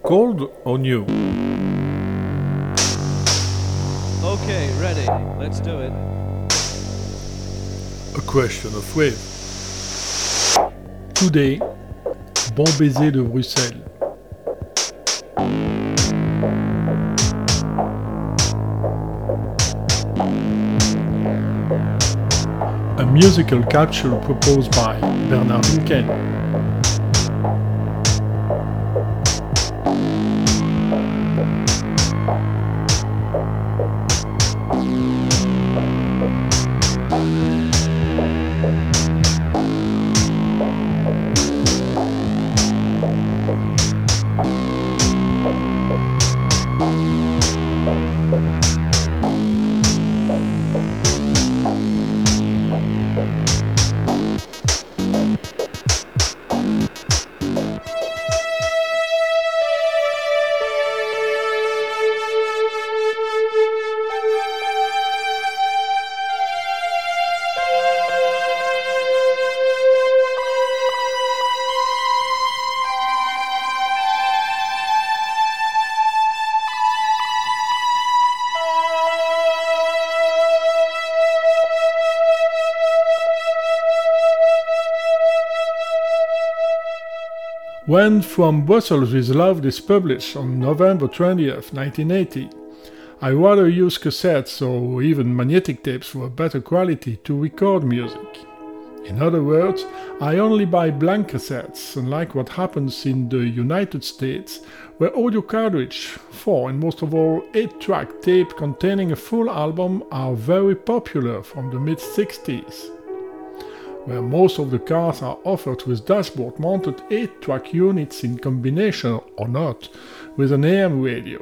Cold or new? Okay, ready. Let's do it. A question of wave. Today, Bon Baiser de Bruxelles. A musical capsule proposed by Bernard Winkel. When From Brussels with Love is published on November 20th, 1980, I rather use cassettes or even magnetic tapes for better quality to record music. In other words, I only buy blank cassettes, unlike what happens in the United States, where audio cartridge, 4 and most of all 8-track tape containing a full album are very popular from the mid-60s. Where most of the cars are offered with dashboard-mounted 8-track units in combination or not with an AM radio.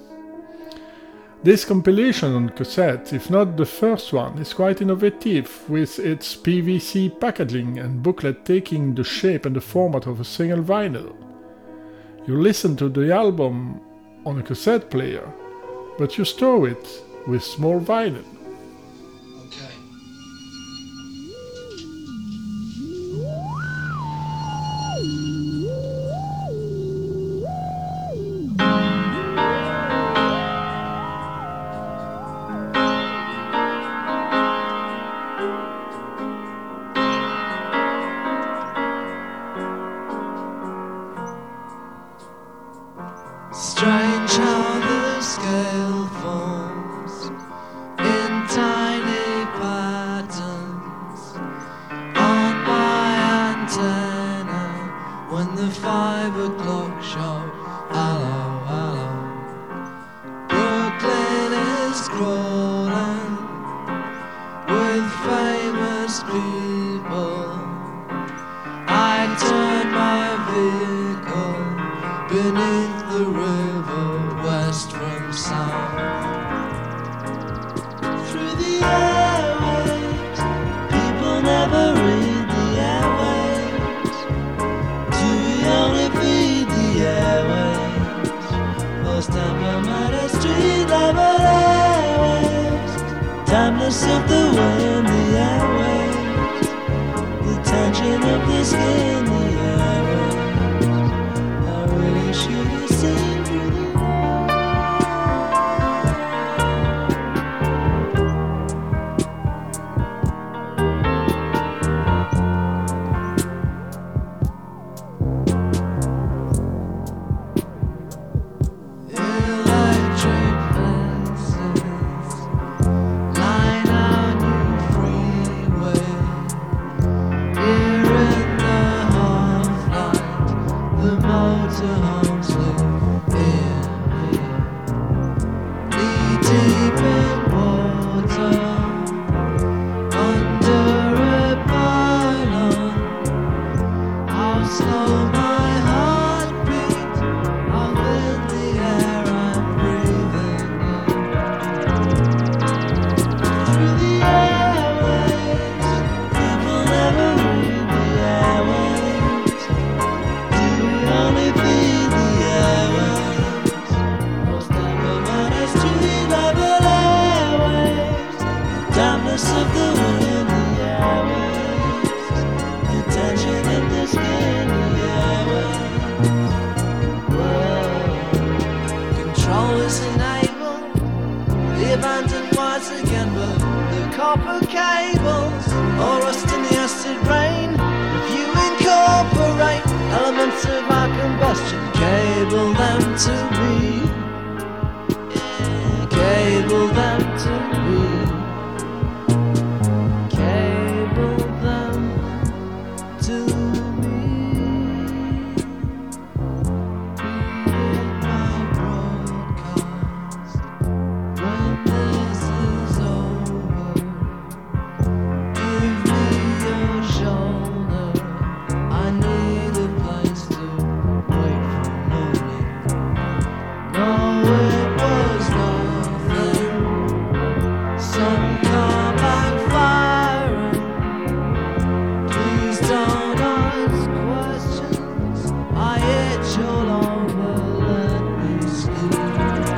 This compilation on cassette, if not the first one, is quite innovative with its PVC packaging and booklet taking the shape and the format of a single vinyl. You listen to the album on a cassette player, but you store it with small vinyl. Strange how the scale forms in tiny patterns on my antenna when the 5 o'clock show. Hello, hello. Brooklyn is crawling with famous people. I turn my vehicle beneath the river west from south. Through the airwaves, people never read the airwaves. Do we only feed the airwaves? Most temperamental street level airwaves. Timeless of the wind, the airwaves. The tension of the skin, the airwaves. Should have seen through the electric fences line our new freeway. Here in the half-light, the motorhomes live here, knee-deep in water, under a pylon. How slow my heart beats, how thin the air I'm breathing in. Through the airwaves, people never read the airwaves. Do we only feed the airwaves? Most everybody street level airwaves. Timeless of the wind, the airwaves. The tension in the skin, the airwaves. copper cables or rust in the acid rain. If you incorporate elements of our combustion, cable them to me. Yeah, cable them to me. Cable them to me. My broadcast when this is over. Give me your shoulder. I need a place to wait for a moment. No, it was nothing. Some car backfiring. Please don't ask questions. I itch all over. Let me sleep.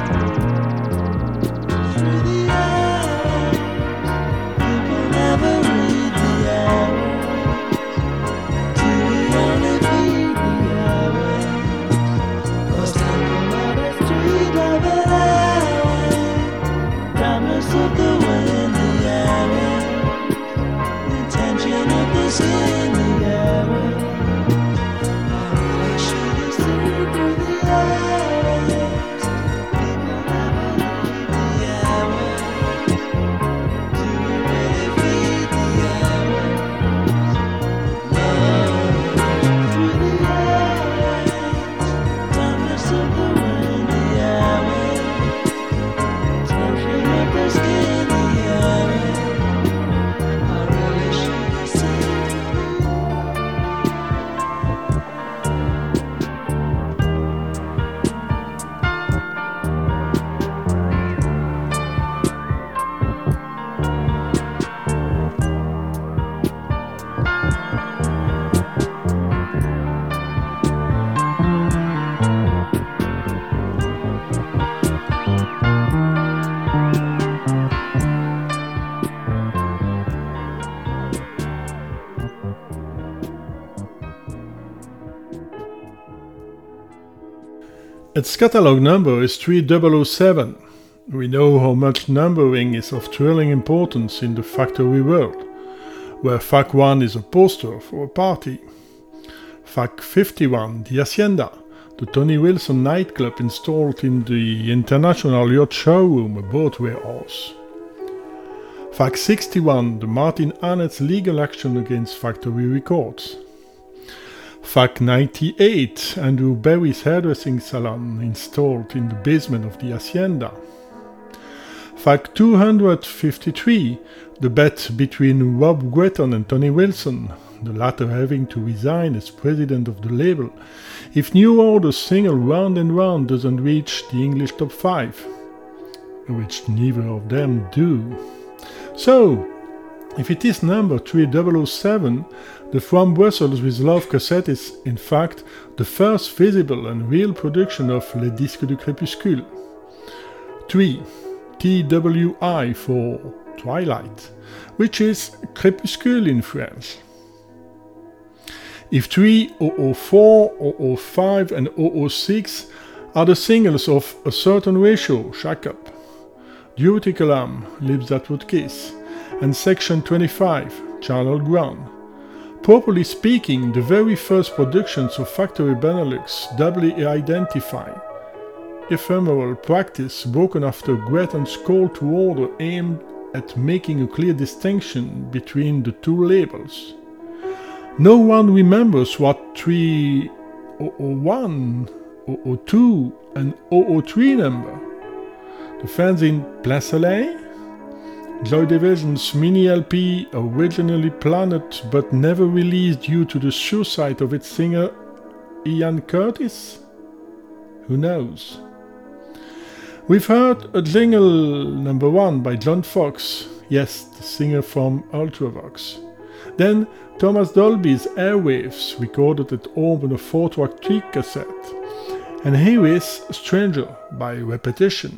Through the airwaves, people never read the airwaves. Do we only feed the airwaves? Or stumble on a street of an airwave? Dampness of the wind, the airwaves. The tension of the skin, the airwaves. I really should have seen through the airwaves. People never leave the airwaves. Do we really feed the airwaves? No. Through the airwaves. Dampness of the wind, the airwaves. Tension of the skin, the airwaves. I really should have seen Its catalog number is 3007. We know how much numbering is of thrilling importance in the factory world, where Fac 1 is a poster for a party. Fac 51, the Hacienda, the Tony Wilson nightclub installed in the International Yacht Showroom, a boat warehouse. Fac 61, the Martin Annet's legal action against Factory Records. Fac 98, Andrew Berry's hairdressing salon installed in the basement of the Hacienda. Fac 253, the bet between Rob Gretton and Tony Wilson, the latter having to resign as president of the label if New Order's single Round and Round doesn't reach the English top 5, which neither of them do. So, if it is number 3007, the From Brussels with Love cassette is, in fact, the first visible and real production of Les Disques du Crépuscule. 3. TWI for Twilight, which is Crépuscule in French. If 3, 004, 005 and 006 are the singles of A Certain Ratio, Shack Up, Duty Column, Lips That Would Kiss, and Section 25, Charnel Ground. Properly speaking, the very first productions of Factory Benelux doubly identify ephemeral practice broken after Gretton's call to order aimed at making a clear distinction between the two labels. No one remembers what 3001, 002 and 003 number. The fans in Plein Soleil? Joy Division's mini LP, originally planned but never released due to the suicide of its singer Ian Curtis? Who knows? We've heard a jingle number 1 by John Fox, yes, the singer from Ultravox. Then Thomas Dolby's Airwaves, recorded at home on a 4-track tweak cassette. And here is Stranger by Repetition.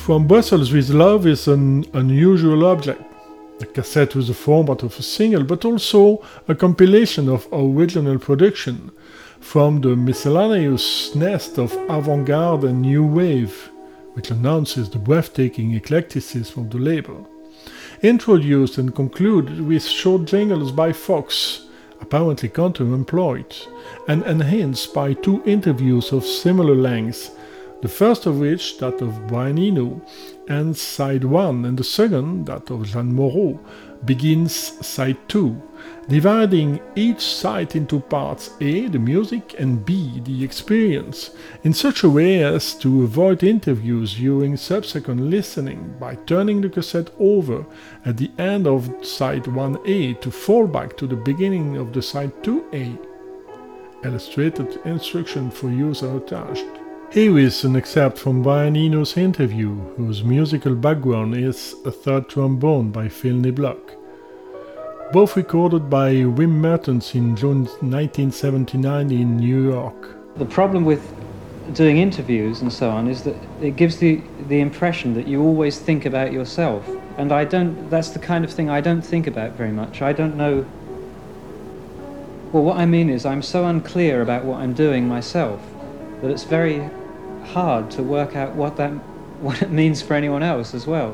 From Brussels with Love is an unusual object. A cassette with the format of a single, but also a compilation of original production from the miscellaneous nest of avant-garde and new wave, which announces the breathtaking eclecticism of the label. Introduced and concluded with short jingles by Fox, apparently counter-employed, and enhanced by 2 interviews of similar length, the first of which, that of Brian Eno, ends side 1, and the second, that of Jeanne Moreau, begins side 2, dividing each side into parts A, the music, and B, the experience, in such a way as to avoid interviews during subsequent listening by turning the cassette over at the end of side 1A to fall back to the beginning of the side 2A. Illustrated instruction for user attached. Here is an excerpt from Brian Eno's interview, whose musical background is a third trombone by Phil Niblock. Both recorded by Wim Mertens in June 1979 in New York. The problem with doing interviews and so on is that it gives the impression that you always think about yourself. And that's the kind of thing I don't think about very much. I don't know. Well, what I mean is I'm so unclear about what I'm doing myself that it's very hard to work out what it means for anyone else as well.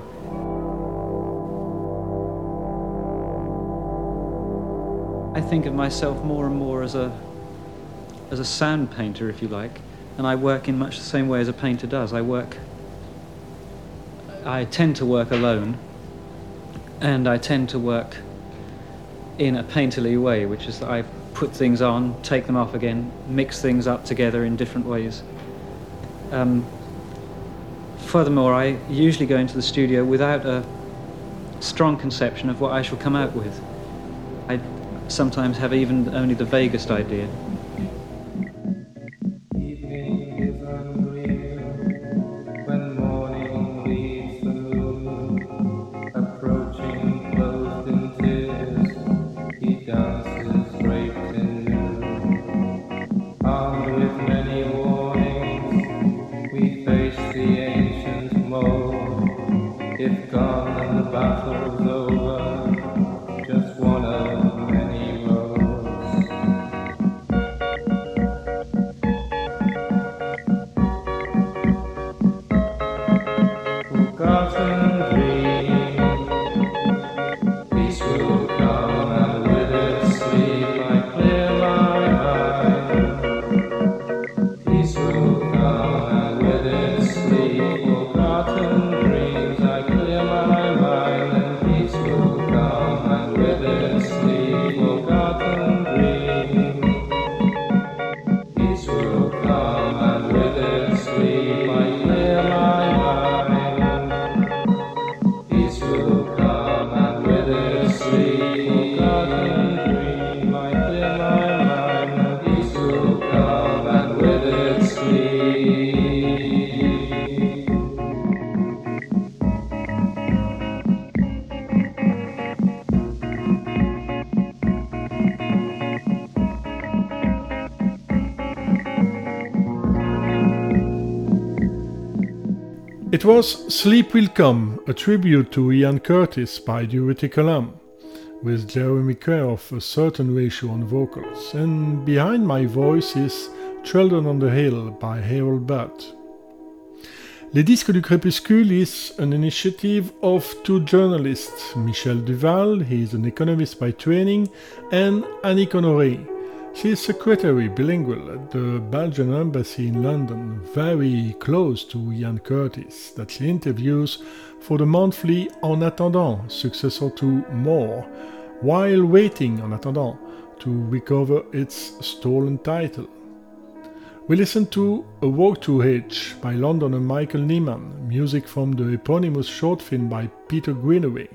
I think of myself more and more as a sound painter, if you like, and I work in much the same way as a painter does. I tend to work alone, and I tend to work in a painterly way, which is that I put things on, take them off again, mix things up together in different ways. Furthermore, I usually go into the studio without a strong conception of what I shall come out with. I sometimes have even only the vaguest idea. It was Sleep Will Come, a tribute to Ian Curtis by Durutti Column, with Jeremy Kerr of A Certain Ratio on vocals, and behind my voice is Children on the Hill by Harold Budd. Les Disques du Crépuscule is an initiative of 2 journalists, Michel Duval, he is an economist by training, and Annick Honoré. She is secretary bilingual at the Belgian embassy in London, very close to Ian Curtis, that she interviews for the monthly En Attendant, successor to More, while waiting En Attendant to recover its stolen title. We listen to A Walk to H by Londoner Michael Nyman, music from the eponymous short film by Peter Greenaway.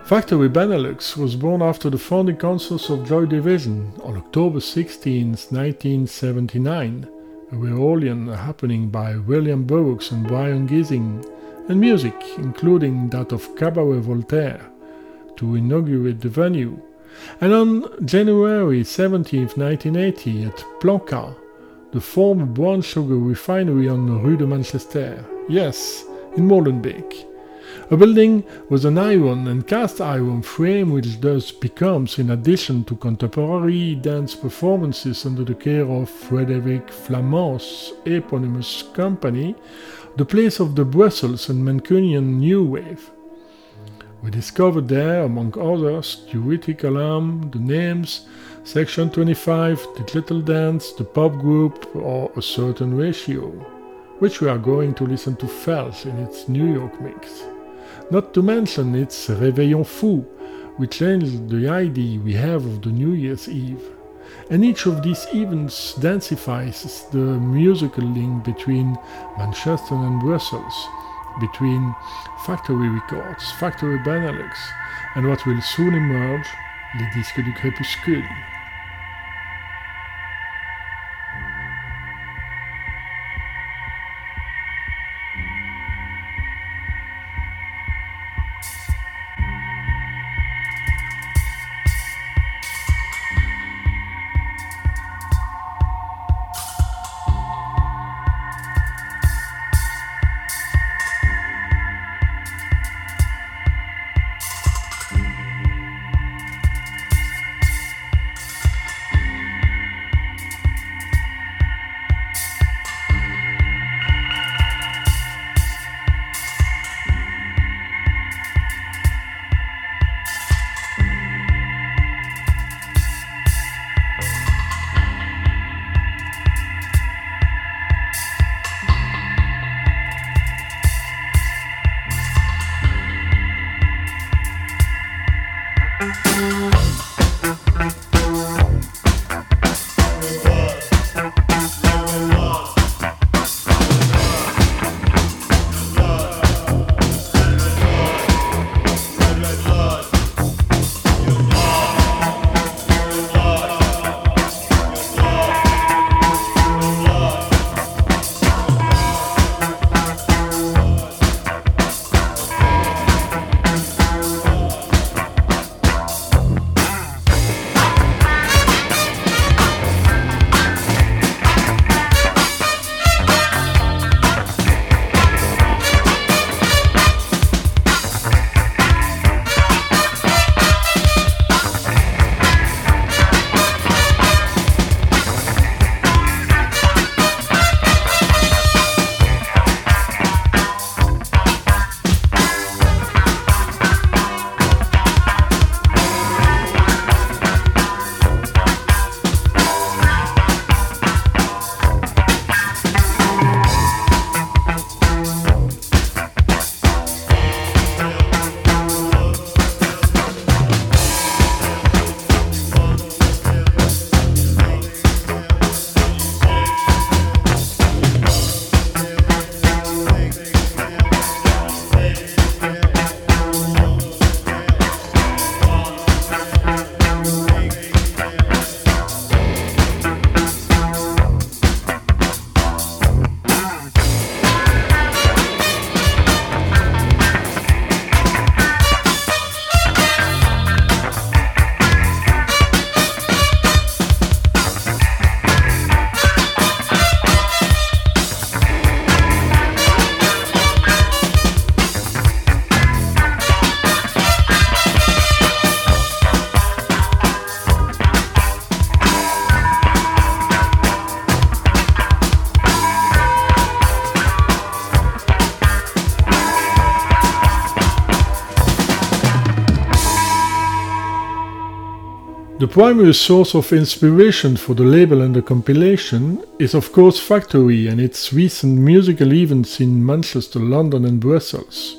Factory Benelux was born after the founding concerts of Joy Division on October 16, 1979, a reunion happening by William Burroughs and Brian Gissing, and music, including that of Cabaret Voltaire, to inaugurate the venue. And on January 17, 1980, at Planca, the former brown sugar refinery on Rue de Manchester, yes, in Molenbeek. A building with an iron and cast iron frame which thus becomes, in addition to contemporary dance performances under the care of Frédéric Flamand's eponymous company, the place of the Brussels and Mancunian New Wave. We discovered there, among others, Theoretical Alarm, The Names, Section 25, The Little Dance, The Pop Group, or A Certain Ratio, which we are going to listen to first in its New York mix. Not to mention its Réveillon Fou, which changes the idea we have of the New Year's Eve. And each of these events densifies the musical link between Manchester and Brussels, between Factory Records, Factory Benelux, and what will soon emerge, les disques du crépuscule. The primary source of inspiration for the label and the compilation is of course Factory and its recent musical events in Manchester, London and Brussels.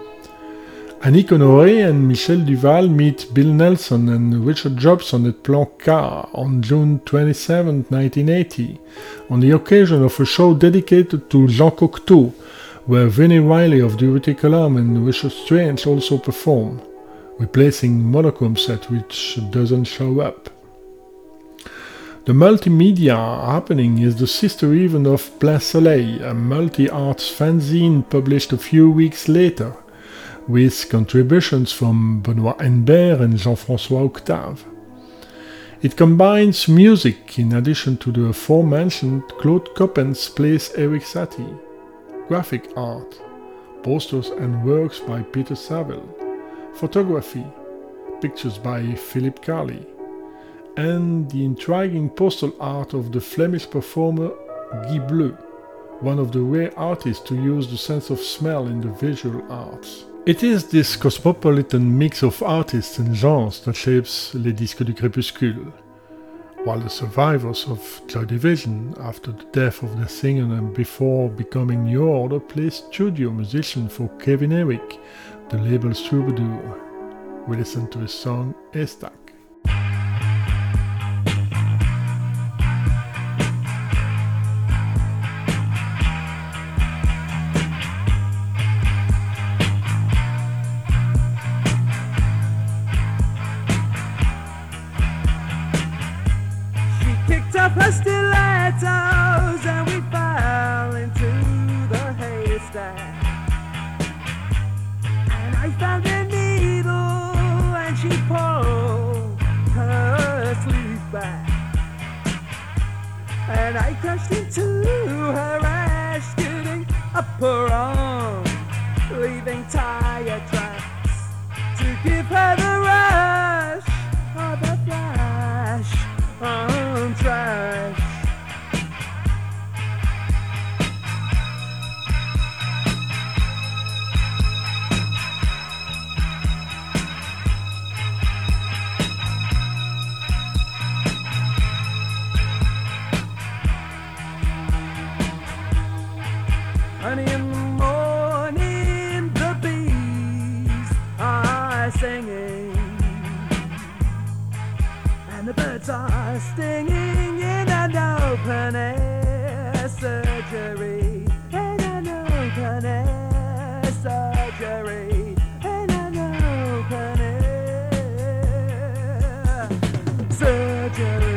Annick Honoré and Michel Duval meet Bill Nelson and Richard Jobson at Planca on June 27, 1980, on the occasion of a show dedicated to Jean Cocteau, where Vinnie Riley of Theoretical Alarm and Richard Strange also perform. replacing monochrome set which doesn't show up. The multimedia happening is the sister event of Plein Soleil, a multi-arts fanzine published a few weeks later, with contributions from Benoît Henbert and Jean-François Octave. It combines music in addition to the aforementioned Claude Coppens plays Eric Satie, graphic art, posters and works by Peter Saville, photography, pictures by Philippe Carli, and the intriguing postal art of the Flemish performer Guy Bleu, one of the rare artists to use the sense of smell in the visual arts. It is this cosmopolitan mix of artists and genres that shapes Les Disques du Crépuscule, while the survivors of Joy Division, after the death of their singer and before becoming New Order, play studio musician for Kevin Eric, the label's troubadour. We listen to his song Estac. Her stilettos and we fell into the haystack, and I found a needle and she pulled her sleeve back, and I crashed into her ass, getting up her arm, leaving tire tracks to give her the rush of the flash on trash. Early in the morning, the bees are singing, and the birds are stinging in an open air surgery, in an open air surgery, in an open air surgery.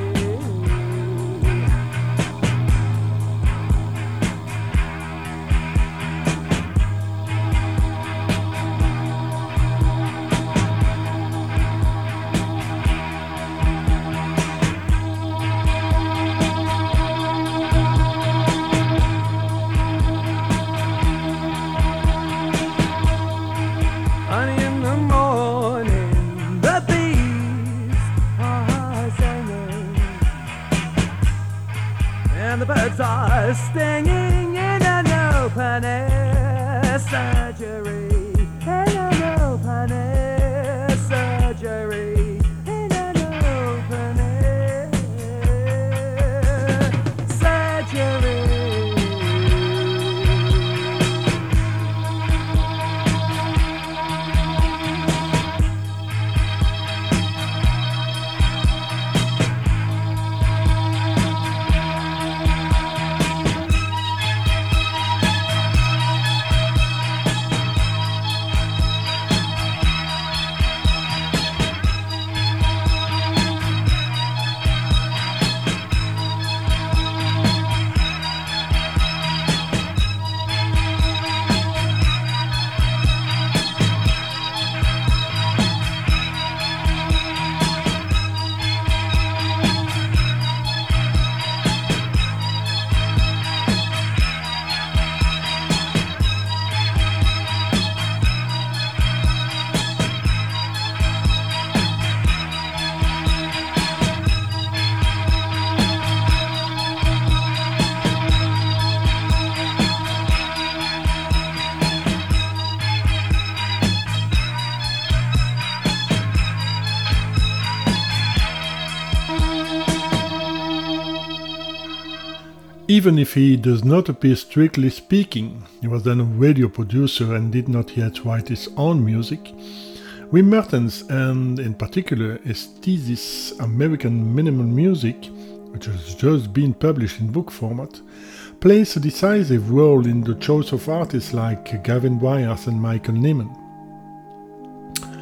The birds are stinging in an open air surgery, in an open air surgery, in an open air surgery. Even if he does not appear strictly speaking, he was then a radio producer and did not yet write his own music, Wim Mertens, and in particular his thesis American Minimal Music, which has just been published in book format, plays a decisive role in the choice of artists like Gavin Bryars and Michael Nyman.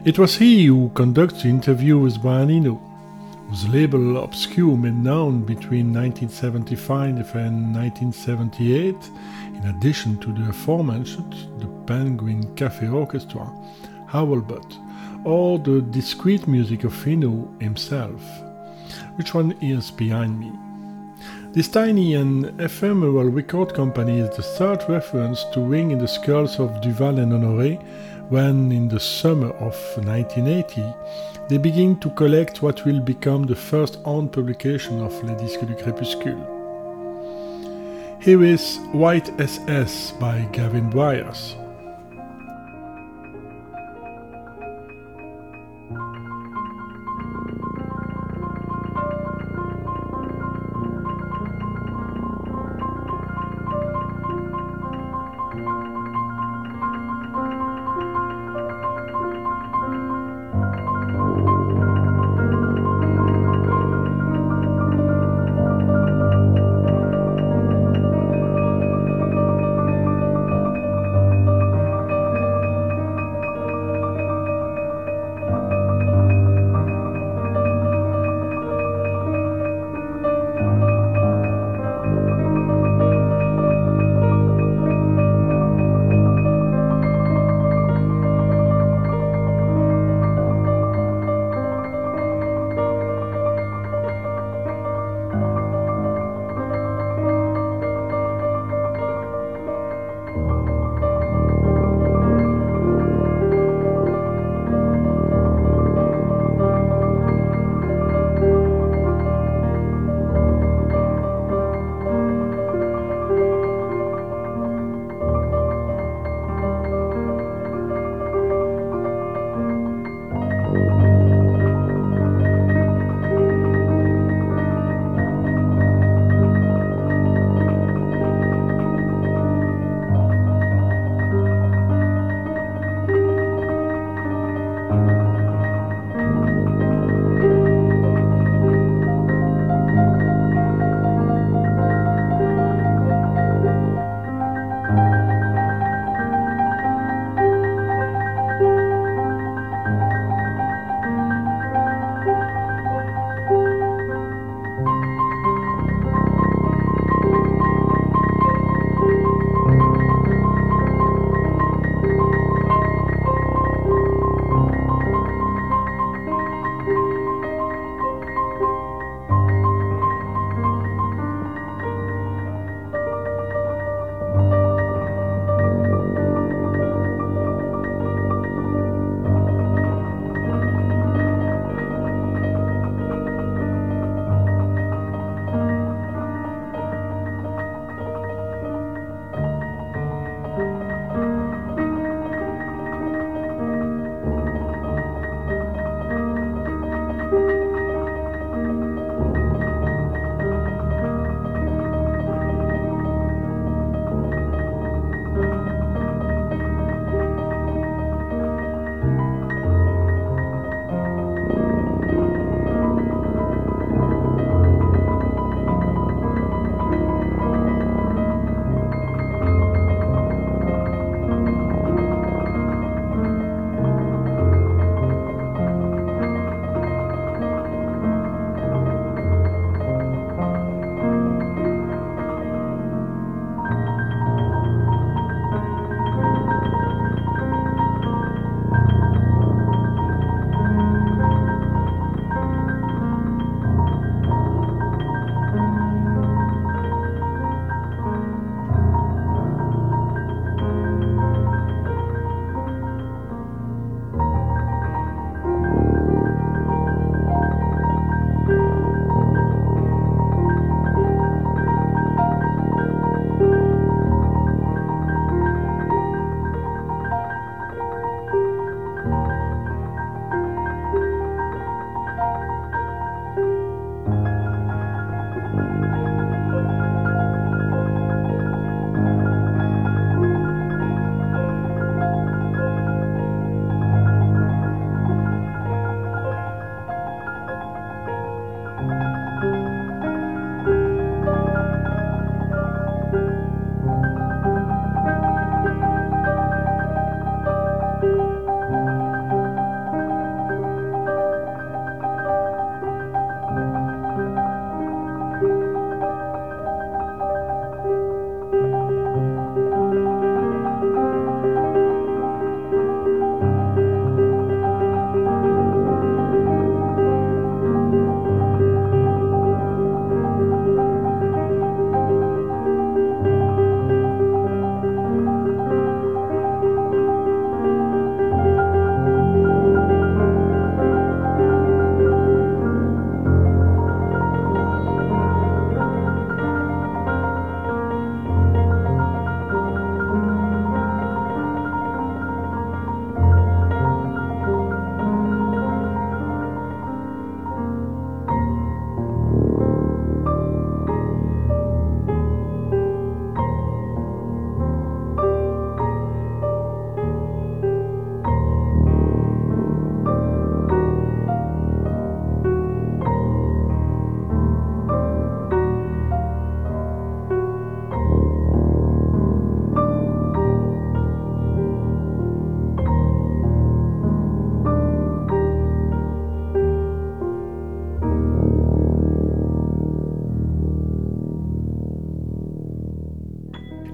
It was he who conducted the interview with Brian Eno, whose label Obscure made known between 1975 and 1978, in addition to the aforementioned the Penguin Cafe Orchestra, Howlbutt, or the discrete music of Eno himself. Which one is behind me? This tiny and ephemeral record company is the third reference to Ring in the Skulls of Duval and Honoré when, in the summer of 1980, they begin to collect what will become the first own publication of Les Disques du Crépuscule. Here is White SS by Gavin Bryars.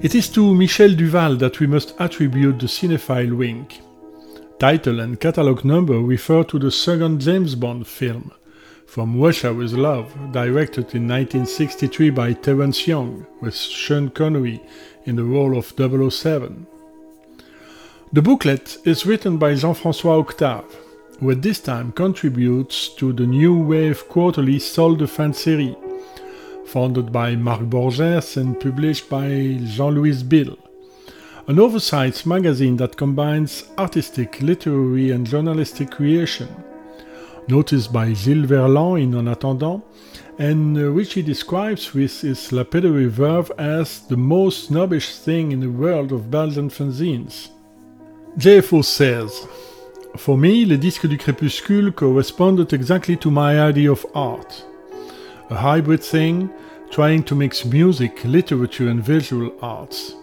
It is to Michel Duval that we must attribute the cinephile wink. Title and catalogue number refer to the second James Bond film, From Russia with Love, directed in 1963 by Terence Young, with Sean Connery in the role of 007. The booklet is written by Jean-François Octave, who at this time contributes to the new wave quarterly Sol de Fin de Série, founded by Marc Borges and published by Jean-Louis Bill, an oversized magazine that combines artistic, literary and journalistic creation, noticed by Gilles Verland in En Attendant, and which he describes with his lapidary verve as the most snobbish thing in the world of Belgian fanzines. JFO says, "For me, Les Disques du Crépuscule corresponded exactly to my idea of art. A hybrid thing, trying to mix music, literature and visual arts."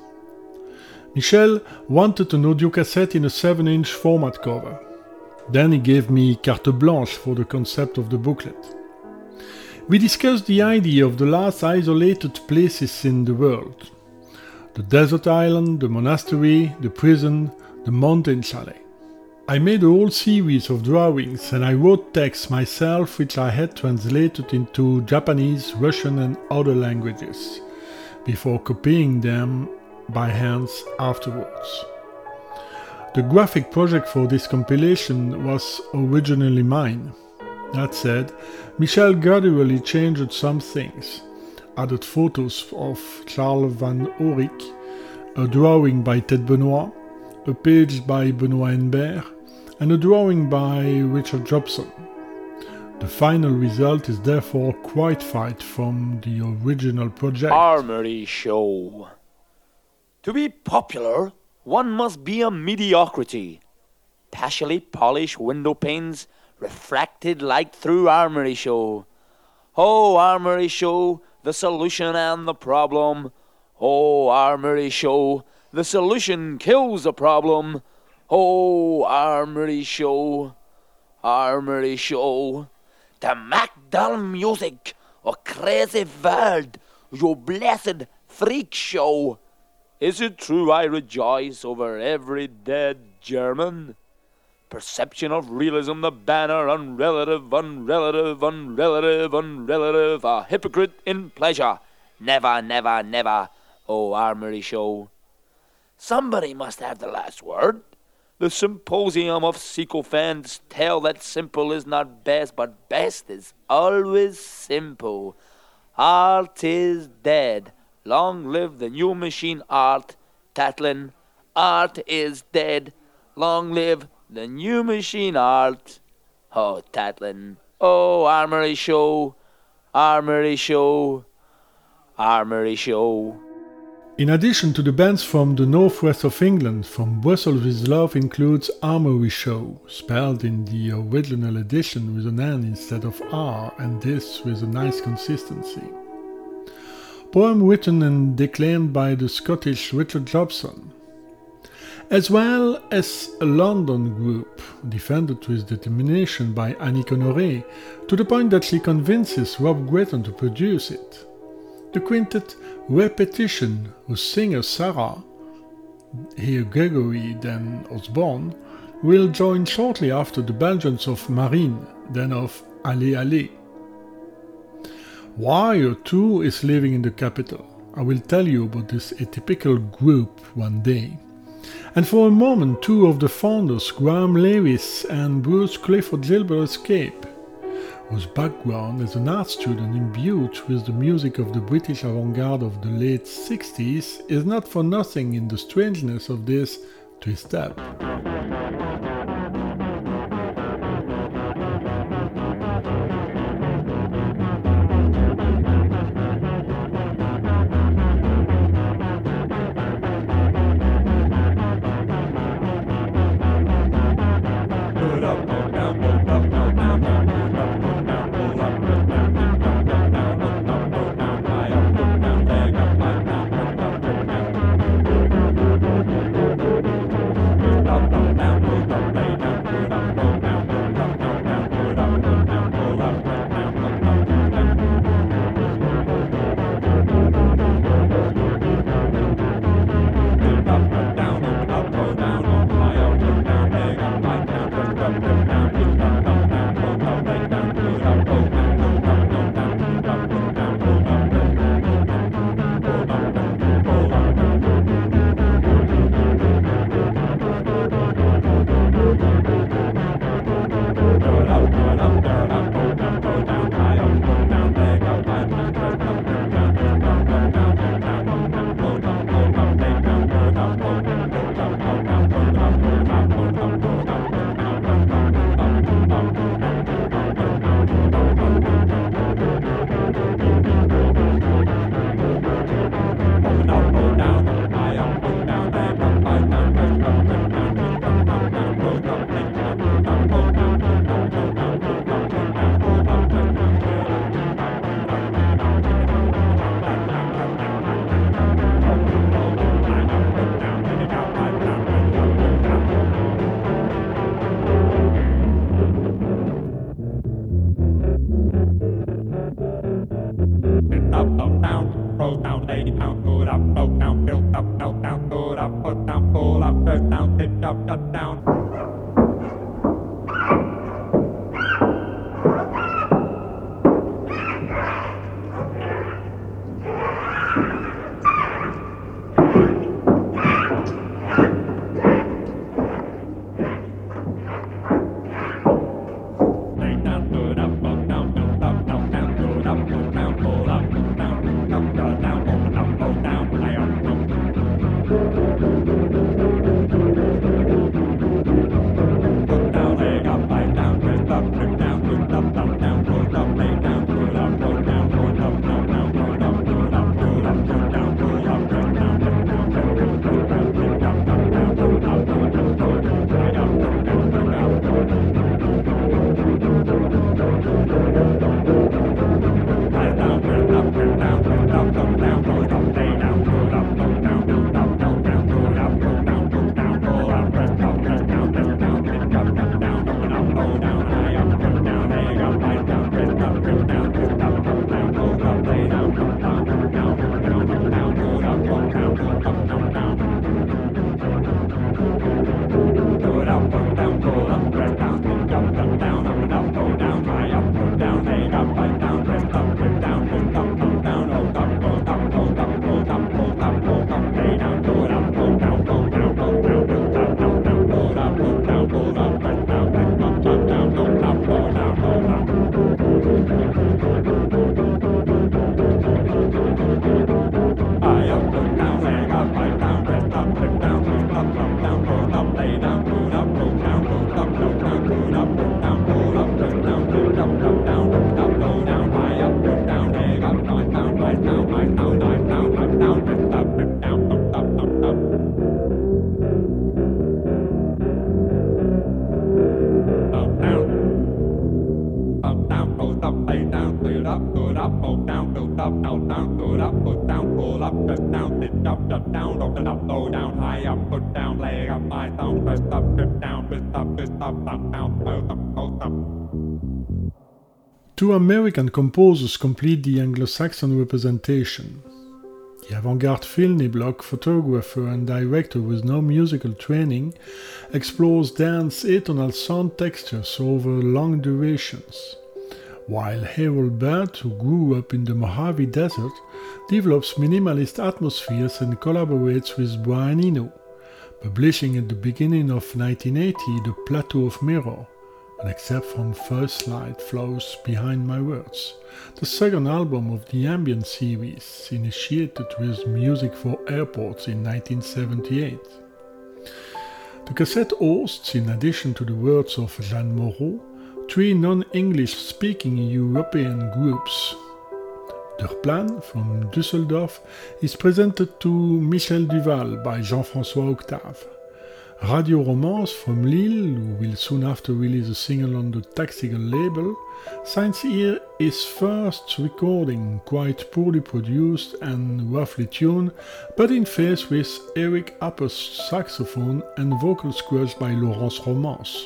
Michel wanted an audio cassette in a 7-inch format cover. Then he gave me carte blanche for the concept of the booklet. We discussed the idea of the last isolated places in the world. The desert island, the monastery, the prison, the mountain chalet. I made a whole series of drawings and I wrote texts myself which I had translated into Japanese, Russian and other languages, before copying them by hand afterwards. The graphic project for this compilation was originally mine. That said, Michel gradually changed some things, added photos of Charles van Orik, a drawing by Ted Benoit, a page by Benoit Henbert, and a drawing by Richard Jobson. The final result is therefore quite far from the original project. Armory Show. To be popular, one must be a mediocrity. Partially polished window panes refracted light through Armory Show. Oh, Armory Show, the solution and the problem. Oh, Armory Show, the solution kills the problem. Oh, Armory Show, Armory Show. The Macdal music, a crazy world, your blessed freak show. Is it true I rejoice over every dead German? Perception of realism, the banner, unrelative, unrelative, unrelative, unrelative, a hypocrite in pleasure. Never, never, never, oh Armory Show. Somebody must have the last word. The symposium of sycophants tell that simple is not best, but best is always simple. Art is dead. Long live the new machine art. Tatlin, art is dead. Long live the new machine art. Oh, Tatlin. Oh, Armory Show. Armory Show. Armory Show. In addition to the bands from the northwest of England, From Brussels with Love includes Armory Show, spelled in the original edition with an N instead of R, and this with a nice consistency. Poem written and declaimed by the Scottish Richard Jobson, as well as a London group, defended with determination by Annie Honoré, to the point that she convinces Rob Gretton to produce it. The quintet Repetition, whose singer Sarah, here Gregory then Osborne, will join shortly after the Belgians of Marine, then of Allez Allez. Why a two is living in the capital? I will tell you about this atypical group one day. And for a moment, two of the founders, Graham Lewis and Bruce Clifford Gilbert, escape, whose background as an art student imbued with the music of the British avant-garde of the late 60s is not for nothing in the strangeness of this twist-up. up, down, down, put up, put down, pull up, press down, sit up, shut down, open up, go down, high up, put down, play up, my down, press up, trip down, twist up, down, up. Two American composers complete the Anglo-Saxon representation. The avant-garde Phil Block, photographer and director with no musical training, explores dance atonal sound textures over long durations, while Harold Budd, who grew up in the Mojave Desert, develops minimalist atmospheres and collaborates with Brian Eno, publishing at the beginning of 1980 The Plateau of Mirror, an excerpt from First Light Flows Behind My Words, the second album of the Ambient series, initiated with music for airports in 1978. The cassette hosts, in addition to the words of Jeanne Moreau, three non-English speaking European groups. Der Plan from Düsseldorf is presented to Michel Duval by Jean-François Octave. Radio Romance from Lille, who will soon after release a single on the Taxigal label, signs here his first recording, quite poorly produced and roughly tuned, but in phase with Eric Apper's saxophone and vocal squares by Laurence Romance.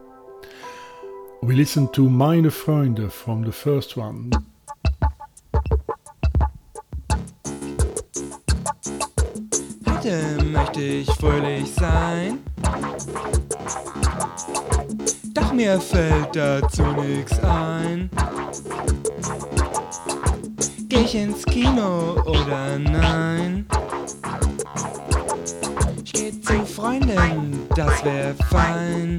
We listen to Meine Freunde from the first one. Heute möchte ich fröhlich sein, doch mir fällt dazu nix ein. Geh ich ins Kino oder nein? Ich geh zu Freunden, das wär fein.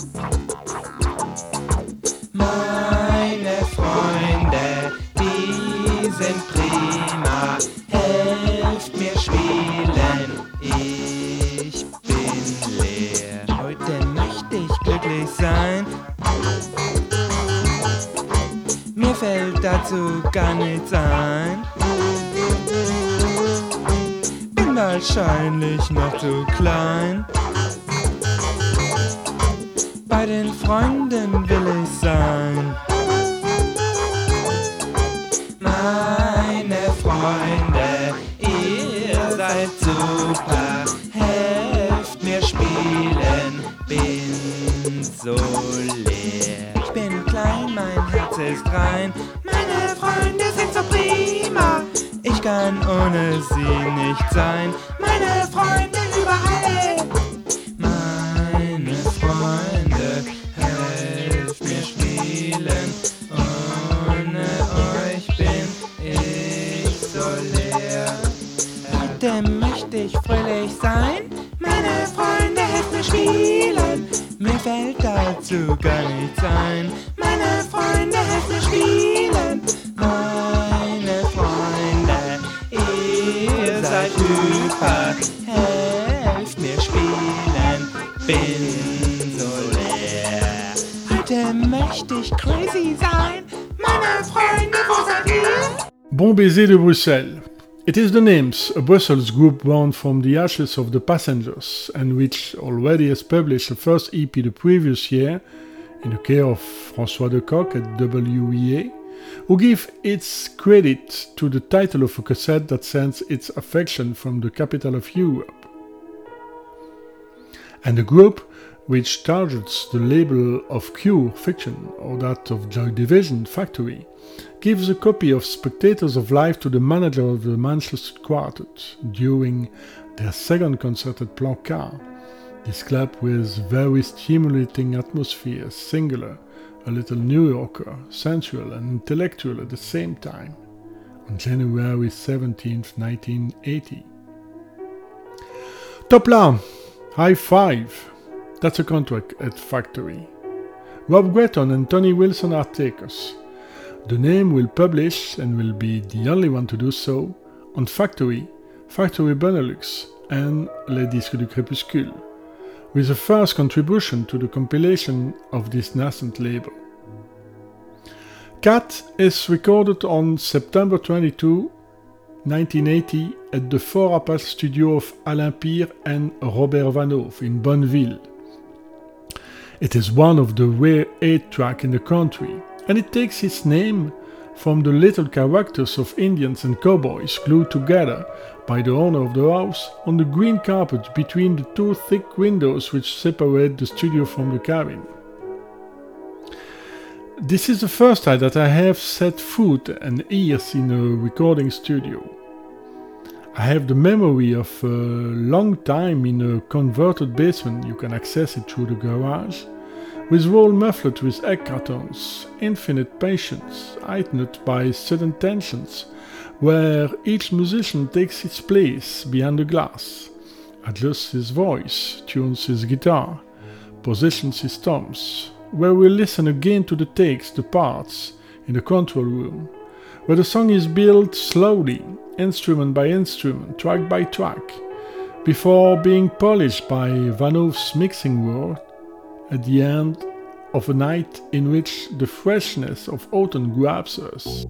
Meine Freunde, die sind prima, helft mir spielen, ich bin leer. Heute möchte ich glücklich sein, mir fällt dazu gar nichts ein. Bin wahrscheinlich noch zu klein, bei den Freunden will ich sein. Meine Freunde, ihr seid super, helft mir spielen, bin so leer. Ich bin klein, mein Herz ist rein, meine Freunde sind so prima, ich kann ohne sie nicht sein, meine Freunde überall. Meine Freunde, helft mir spielen, ohne euch bin ich so leer. Heute möchte ich fröhlich sein, meine Freunde, helft mir spielen, mir fällt dazu gar nichts ein. Meine Freunde, helft mir spielen, meine Freunde, ihr seid super, helft mir spielen, bin so leer. Heute möchte ich crazy sein, meine Freunde, wo seid ihr? Bon Baiser de Bruxelles. It is The Names, a Brussels group born from the ashes of the Passengers, and which already has published a first EP the previous year, in the care of François Decoq at WEA, who give its credit to the title of a cassette that sends its affection from the capital of Europe. And the group, which targets the label of Cure Fiction or that of Joy Division Factory, gives a copy of Spectators of Life to the manager of the Manchester Quartet during their second concert at Plancard. This club with very stimulating atmosphere, singular, a little New Yorker, sensual and intellectual at the same time, on January 17th, 1980. Top là! High Five! That's a contract at Factory. Rob Gretton and Tony Wilson are takers. The name will publish, and will be the only one to do so, on Factory, Factory Benelux, and Les Disques du Crépuscule, with the first contribution to the compilation of this nascent label. Cat is recorded on September 22, 1980 at the Four Apples studio of Alain Pire and Robert Vanhoove in Bonneville. It is one of the rare 8-track in the country, and it takes its name from the little characters of Indians and cowboys glued together by the owner of the house on the green carpet between the two thick windows which separate the studio from the cabin. This is the first time that I have set foot and ears in a recording studio. I have the memory of a long time in a converted basement, you can access it through the garage, with wall muffled with egg cartons, infinite patience, heightened by sudden tensions, where each musician takes its place behind the glass, adjusts his voice, tunes his guitar, positions his toms, where we listen again to the takes, the parts, in the control room, where the song is built slowly, instrument by instrument, track by track, before being polished by Van Hoof's mixing world at the end of a night in which the freshness of autumn grabs us.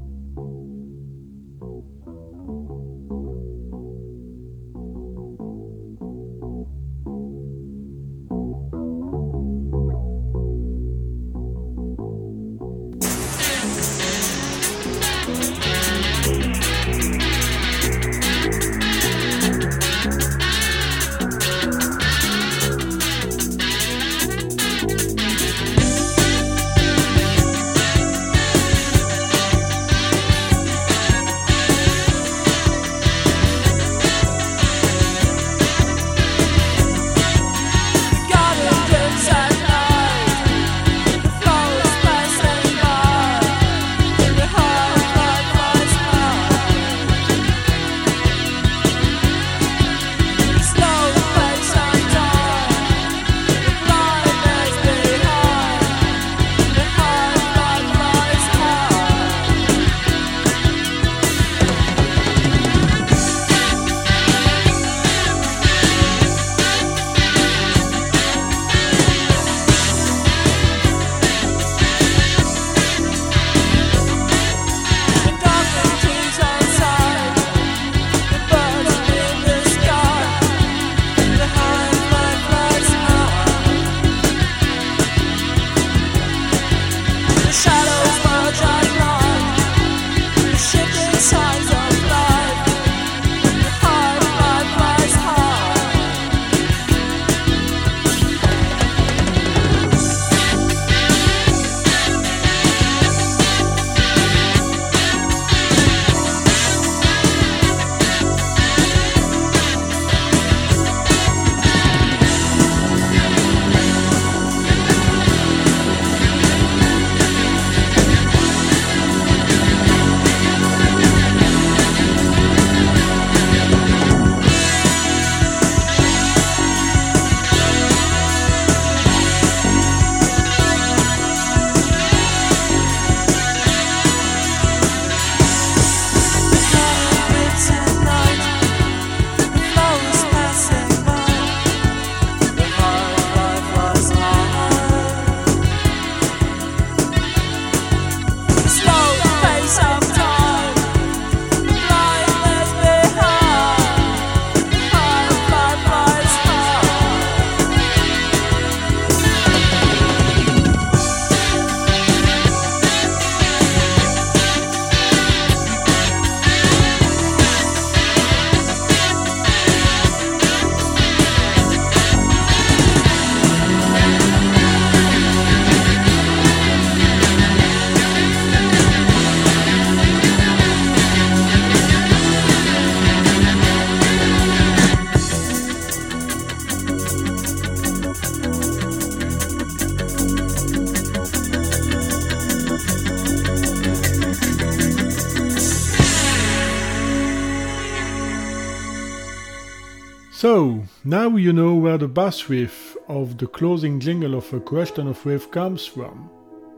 So, now you know where the bass riff of the closing jingle of A Question of Wave comes from.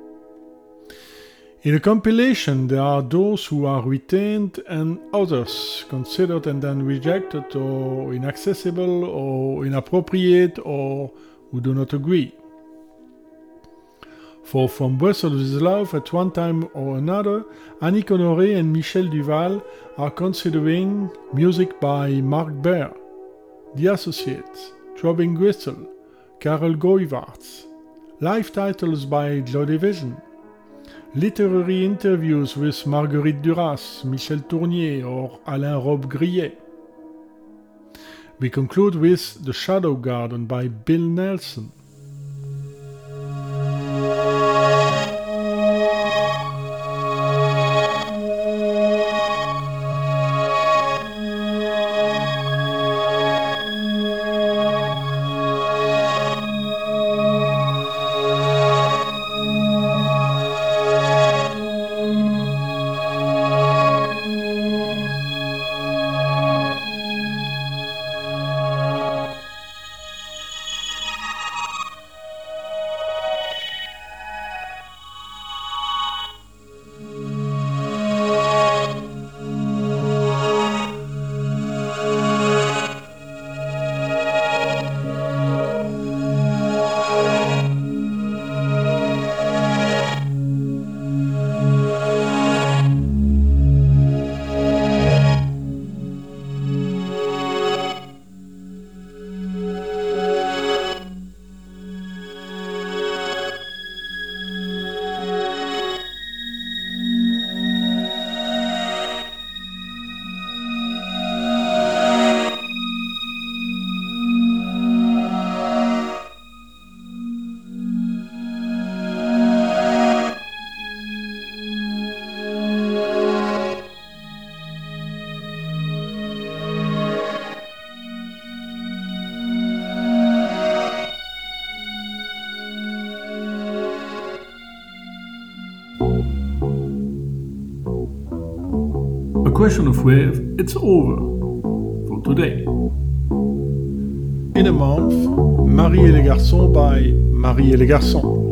In a compilation, there are those who are retained and others considered and then rejected or inaccessible or inappropriate or who do not agree. For From Brussels with Love, at one time or another, Annick Honoré and Michel Duval are considering music by Marc Baer, The Associates, Throbbing Gristle, Karel Gooivaerts, live titles by Joy Division, literary interviews with Marguerite Duras, Michel Tournier or Alain Robbe-Grillet. We conclude with The Shadow Garden by Bill Nelson. Question of Wave, it's over for today. In a month, Marie et les garçons by Marie et les garçons.